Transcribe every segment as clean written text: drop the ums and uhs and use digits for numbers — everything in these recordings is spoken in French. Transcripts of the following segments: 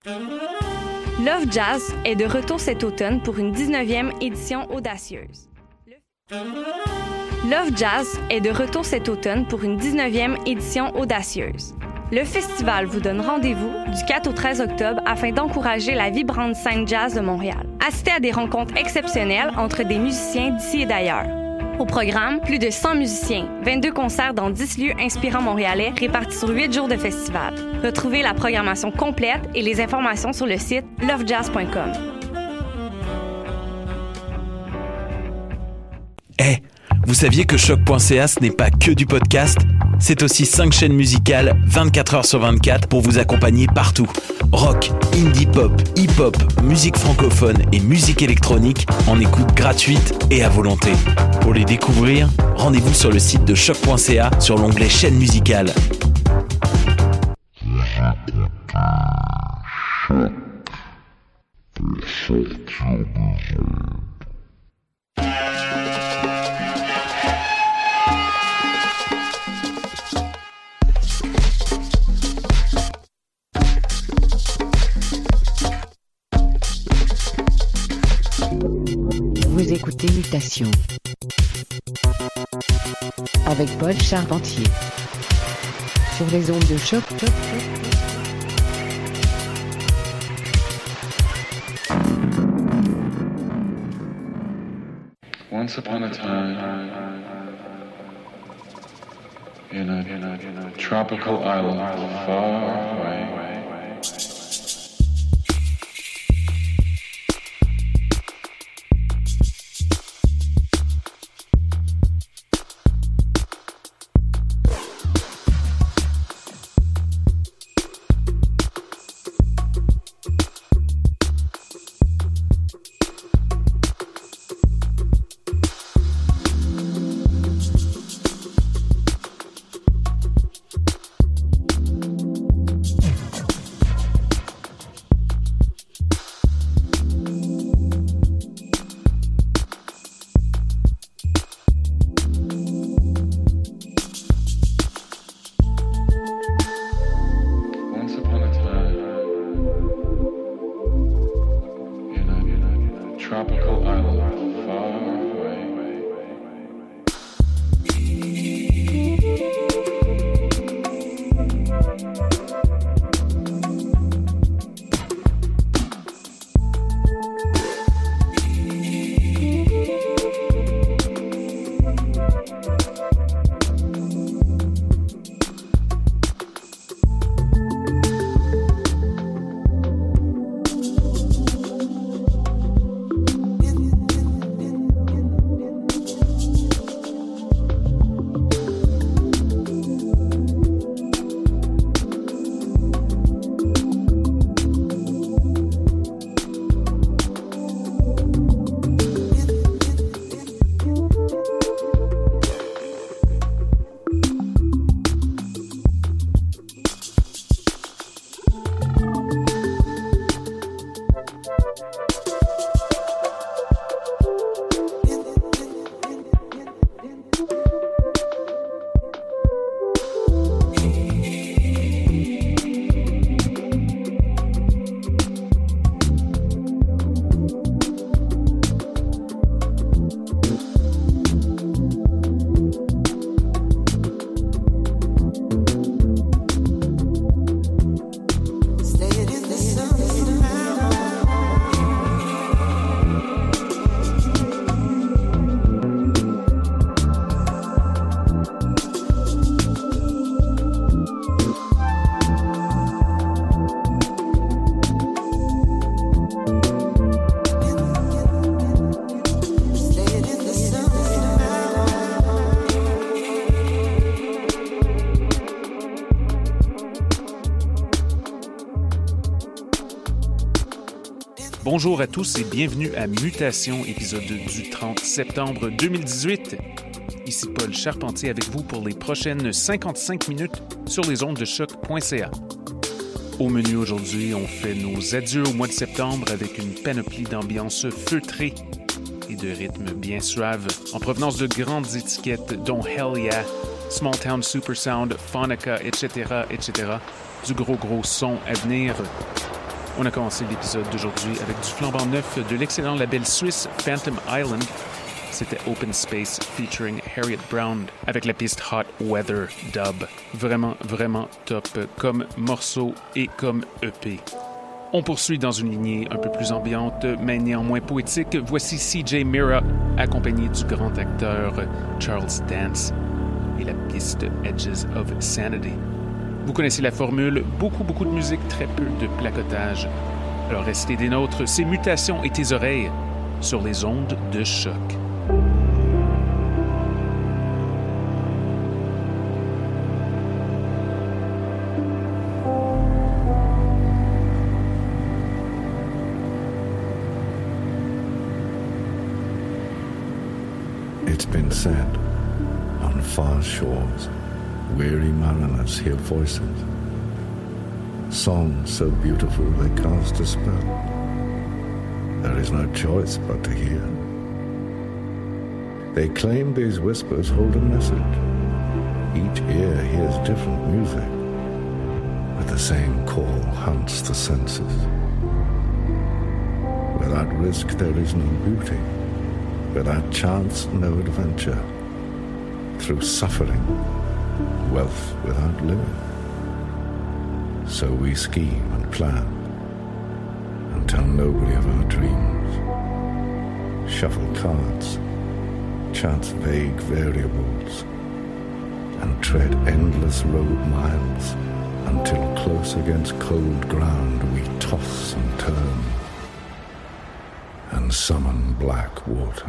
Love Jazz est de retour cet automne pour une 19e édition audacieuse. Love Jazz est de retour cet automne pour une 19e édition audacieuse. Le festival vous donne rendez-vous du 4 au 13 octobre afin d'encourager la vibrante scène jazz de Montréal. Assistez à des rencontres exceptionnelles entre des musiciens d'ici et d'ailleurs. Au programme, plus de 100 musiciens, 22 concerts dans 10 lieux inspirants montréalais répartis sur 8 jours de festival. Retrouvez la programmation complète et les informations sur le site lovejazz.com. Hey, vous saviez que Choc.ca, ce n'est pas que du podcast? C'est aussi 5 chaînes musicales, 24 heures sur 24, pour vous accompagner partout. Rock, indie pop, hip-hop, musique francophone et musique électronique en écoute gratuite et à volonté. Pour les découvrir, rendez-vous sur le site de Choc.ca sur l'onglet chaîne musicale. Vous écoutez Mutation avec Paul Charpentier sur les ondes de Choc. Once upon a time, in a tropical island far away. Bonjour à tous et bienvenue à Mutation, épisode du 30 septembre 2018. Ici Paul Charpentier avec vous pour les prochaines 55 minutes sur les ondes de choc.ca. Au menu aujourd'hui, on fait nos adieux au mois de septembre avec une panoplie d'ambiance feutrée et de rythmes bien suaves en provenance de grandes étiquettes dont Hell Yeah, Small Town Supersound, Phonica, etc., etc. Du gros son à venir. On a commencé l'épisode d'aujourd'hui avec du flambant neuf de l'excellent label suisse Phantom Island. C'était Open Space featuring Harriet Brown avec la piste Hot Weather Dub. Vraiment, vraiment top comme morceau et comme EP. On poursuit dans une lignée un peu plus ambiante, mais néanmoins poétique. Voici CJ Mira, accompagné du grand acteur Charles Dance et la piste Edges of Sanity. Vous connaissez la formule, beaucoup de musique, très peu de placotage. Alors restez des nôtres, c'est Mutations et tes oreilles sur les ondes de choc. It's been said, on far shores, weary mariners hear voices, songs so beautiful they cast a spell. There is no choice but to hear. They claim these whispers hold a message. Each ear hears different music, but the same call haunts the senses. Without risk there is no beauty. Without chance, no adventure. Through suffering, wealth without living. So we scheme and plan and tell nobody of our dreams. Shuffle cards, chance vague variables, and tread endless road miles until close against cold ground we toss and turn and summon black water.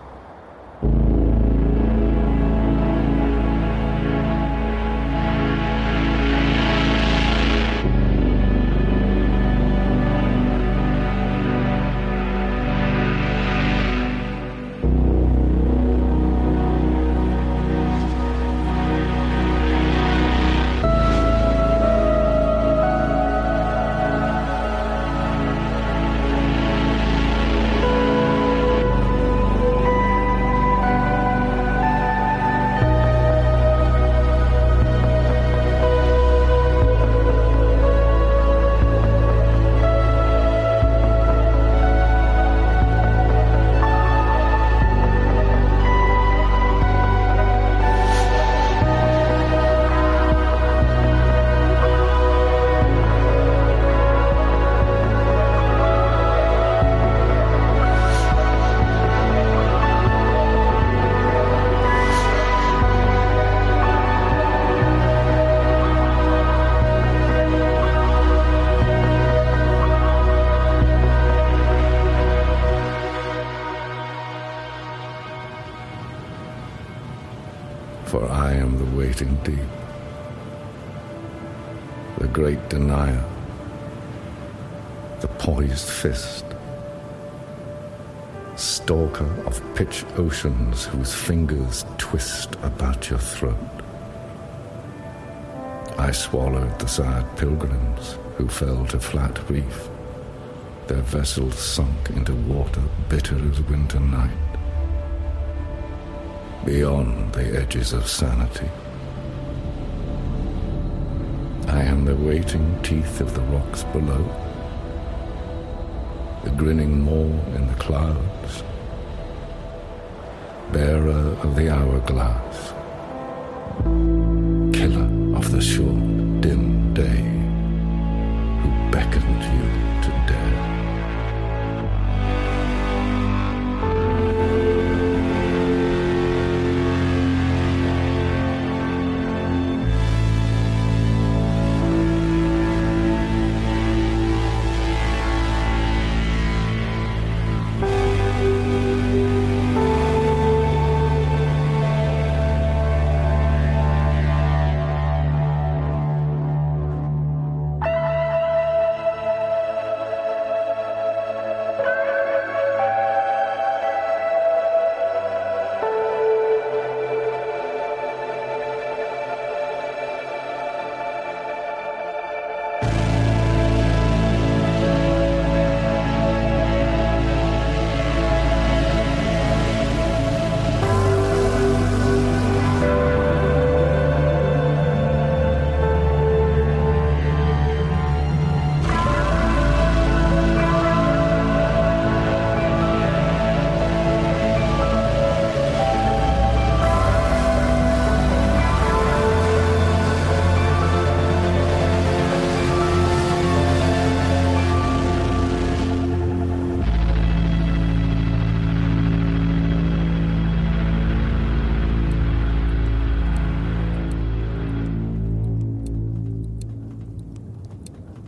For I am the waiting deep, the great denier, the poised fist, stalker of pitch oceans whose fingers twist about your throat. I swallowed the sad pilgrims who fell to flat reef, their vessels sunk into water bitter as winter night. Beyond the edges of sanity, I am the waiting teeth of the rocks below, the grinning maw in the clouds, bearer of the hourglass, killer of the short, dim day, who beckoned you to dare.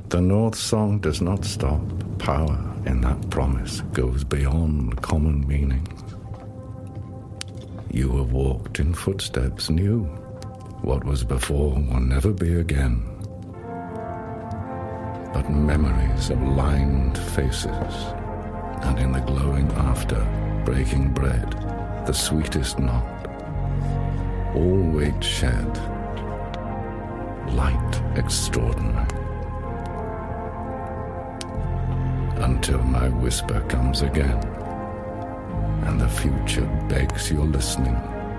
The North Song does not stop. Power in that promise goes beyond common meanings. You have walked in footsteps new. What was before will never be again. But memories of lined faces, and in the glowing after, breaking bread, the sweetest knot, all weight shed, light extraordinary. Until my whisper comes again, and the future begs your listening.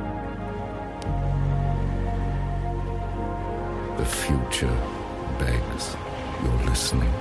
The future begs your listening.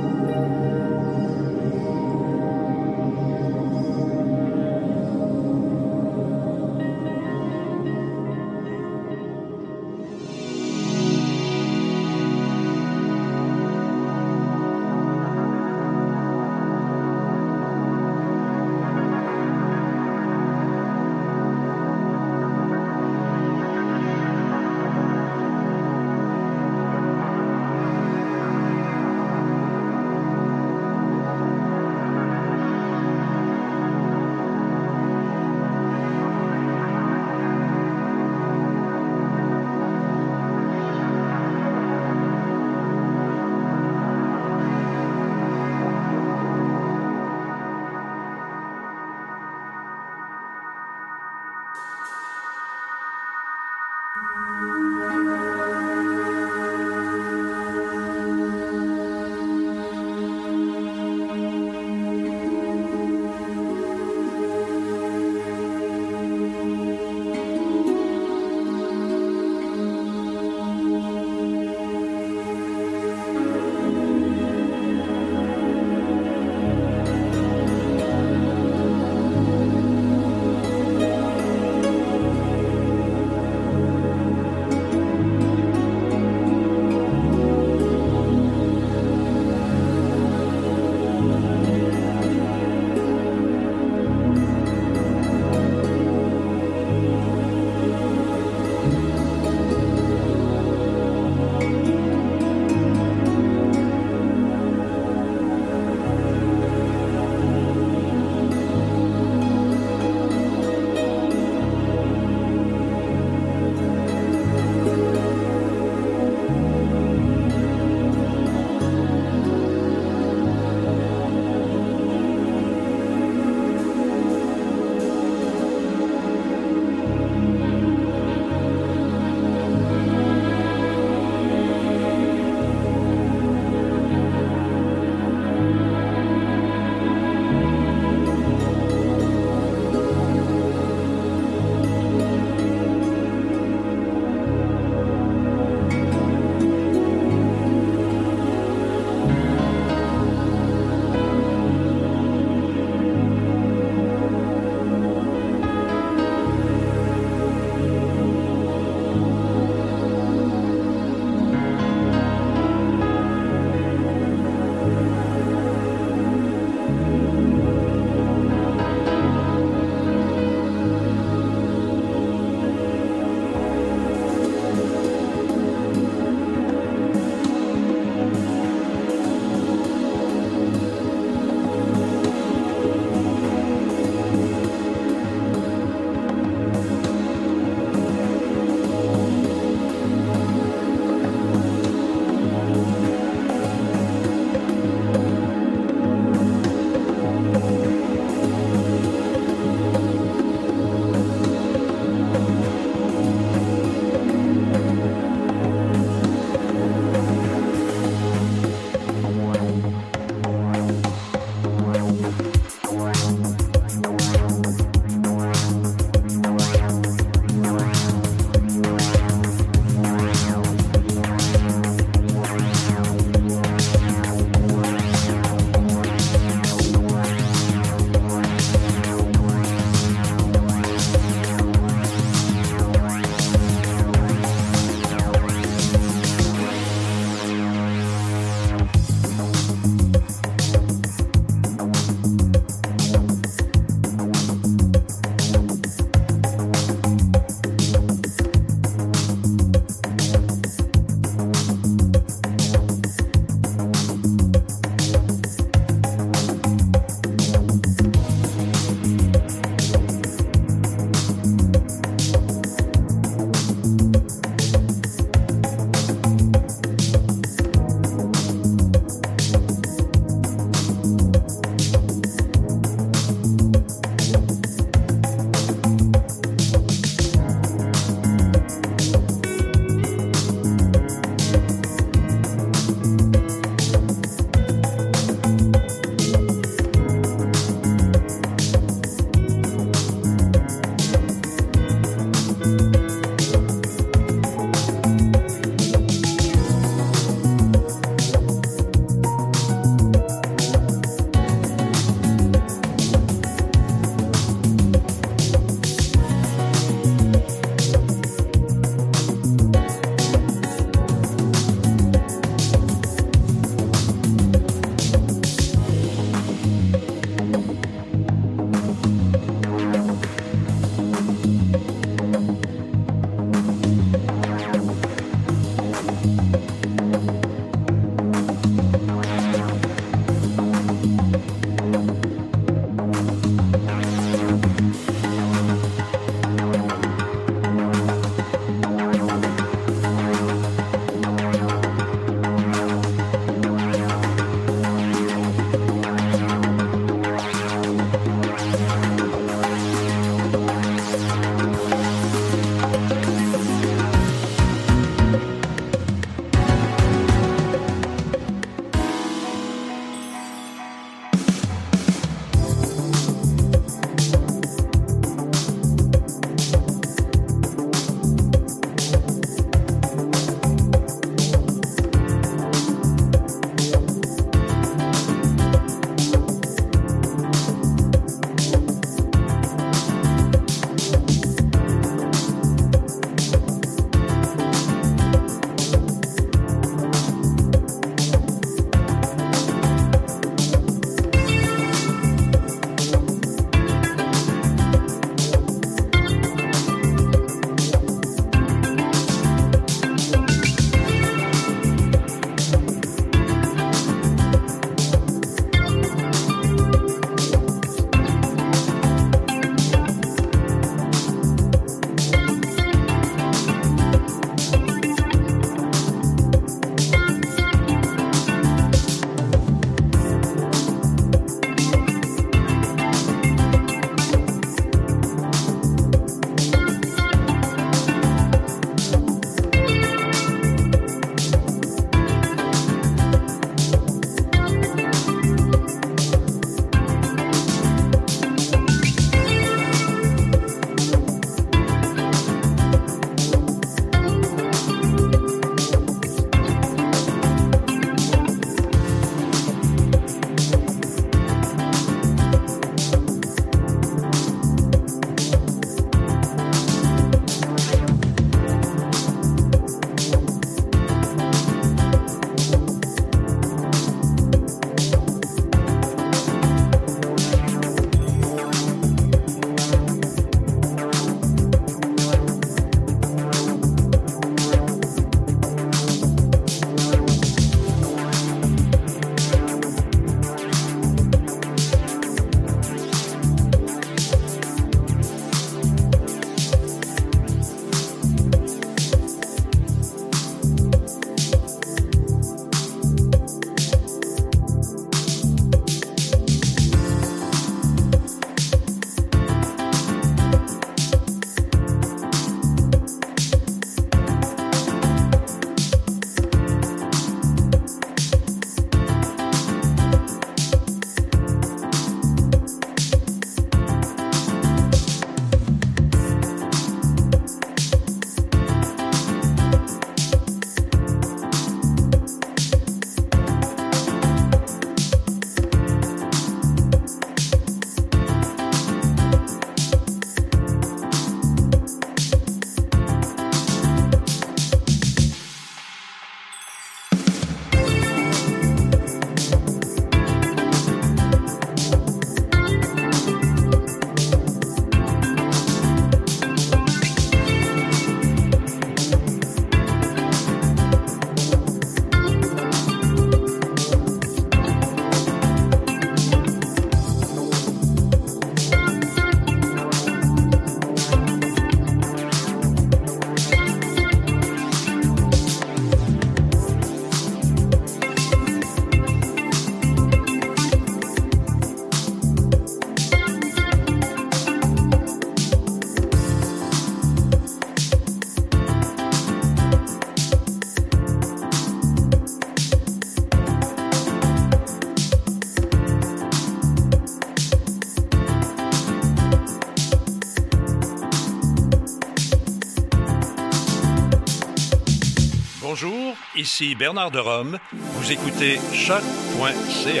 ici Bernard de Rome. Vous écoutez choc.ca.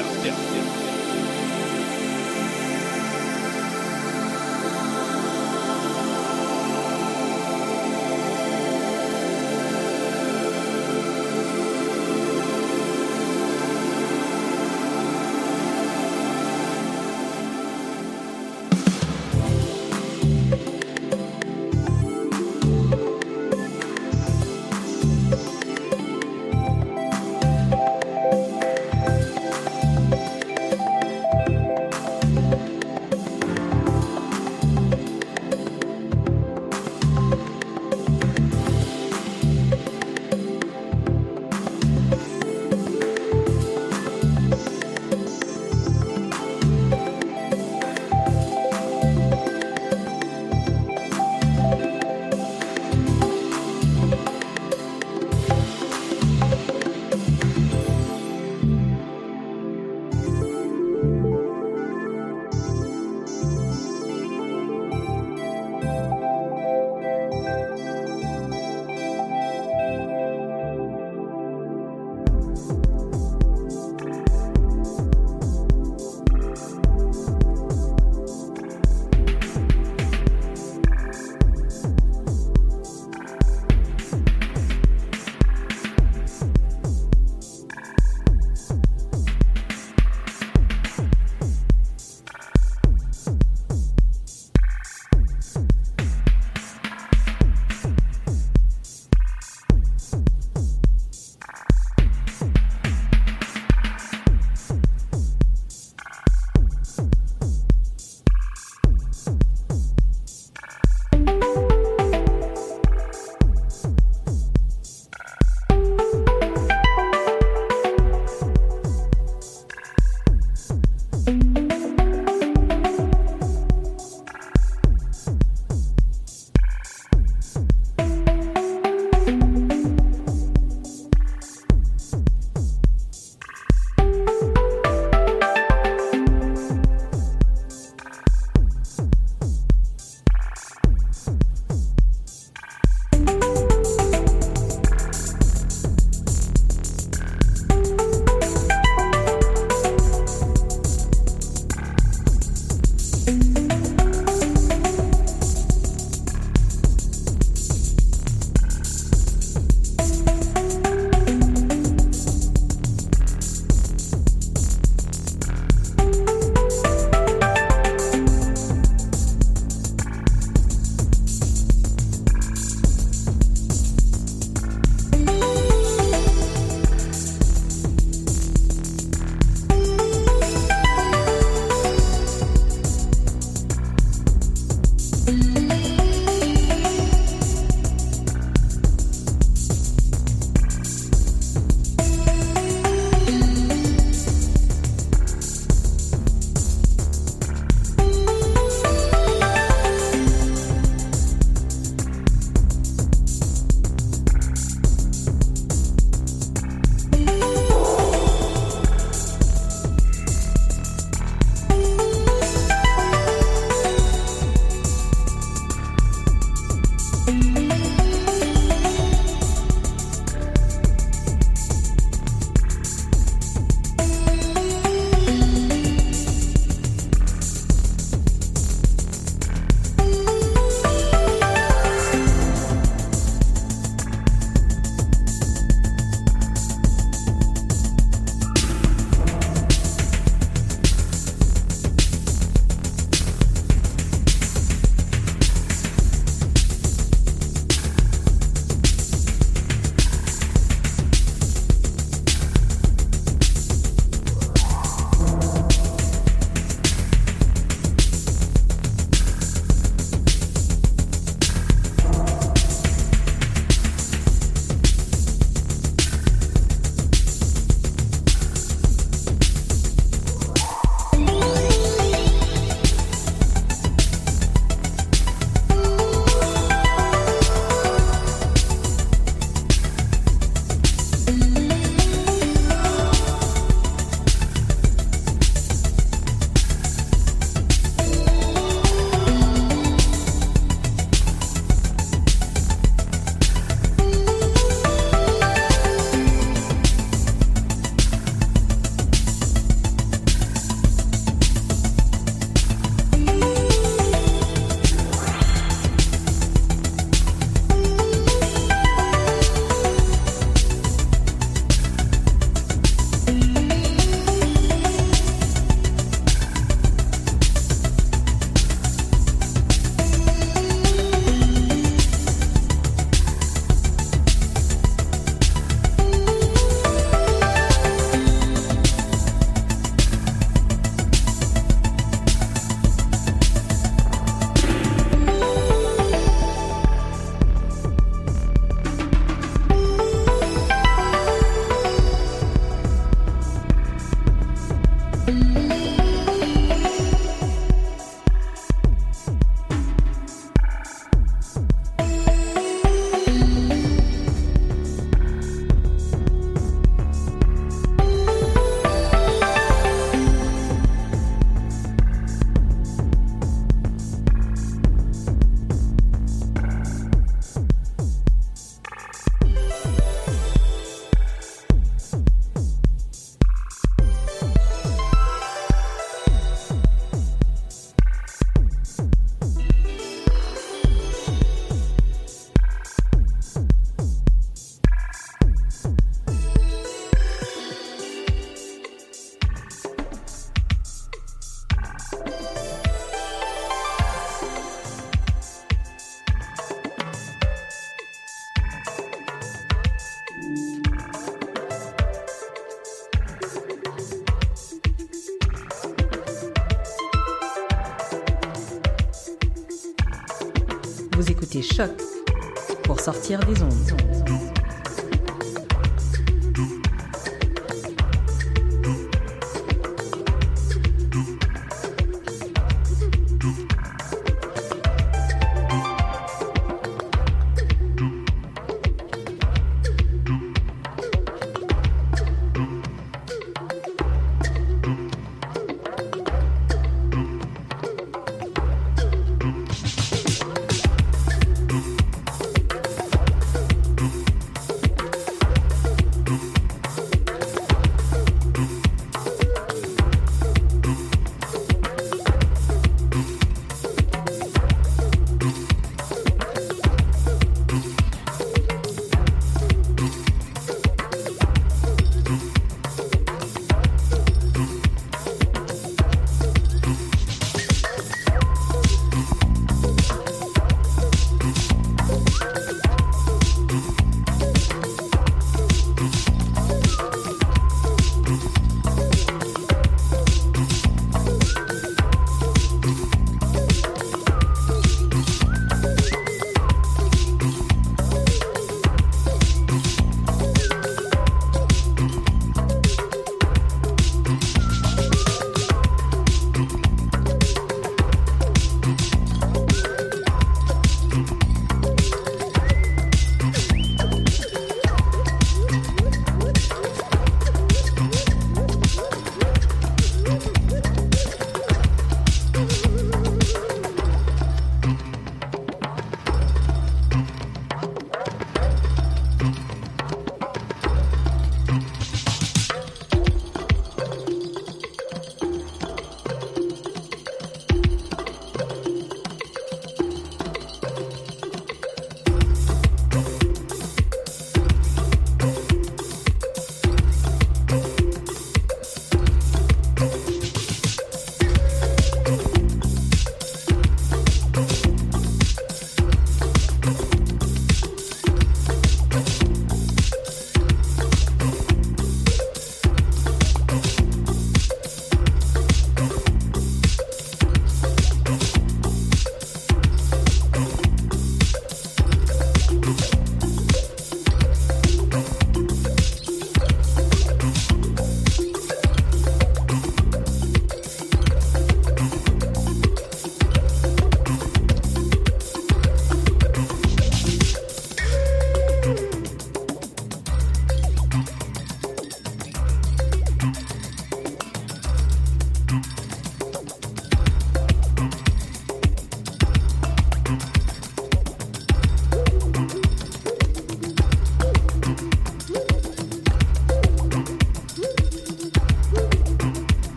Vous écoutez Choc pour sortir des ondes.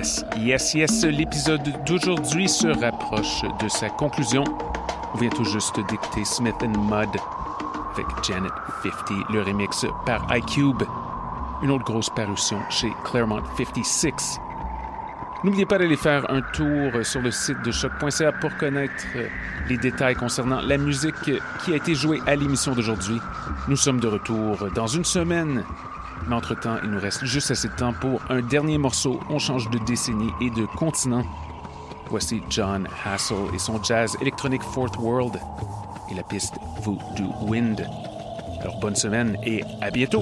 Yes, l'épisode d'aujourd'hui se rapproche de sa conclusion. On vient tout juste d'écouter Smith & Mud avec Janet 50, le remix par iCube. Une autre grosse parution chez Claremont 56. N'oubliez pas d'aller faire un tour sur le site de choc.ca pour connaître les détails concernant la musique qui a été jouée à l'émission d'aujourd'hui. Nous sommes de retour dans une semaine. Mais entre-temps, il nous reste juste assez de temps pour un dernier morceau. On change de décennie et de continent. Voici John Hassel et son jazz électronique Fourth World et la piste Voodoo Wind. Alors bonne semaine et à bientôt!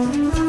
Bye.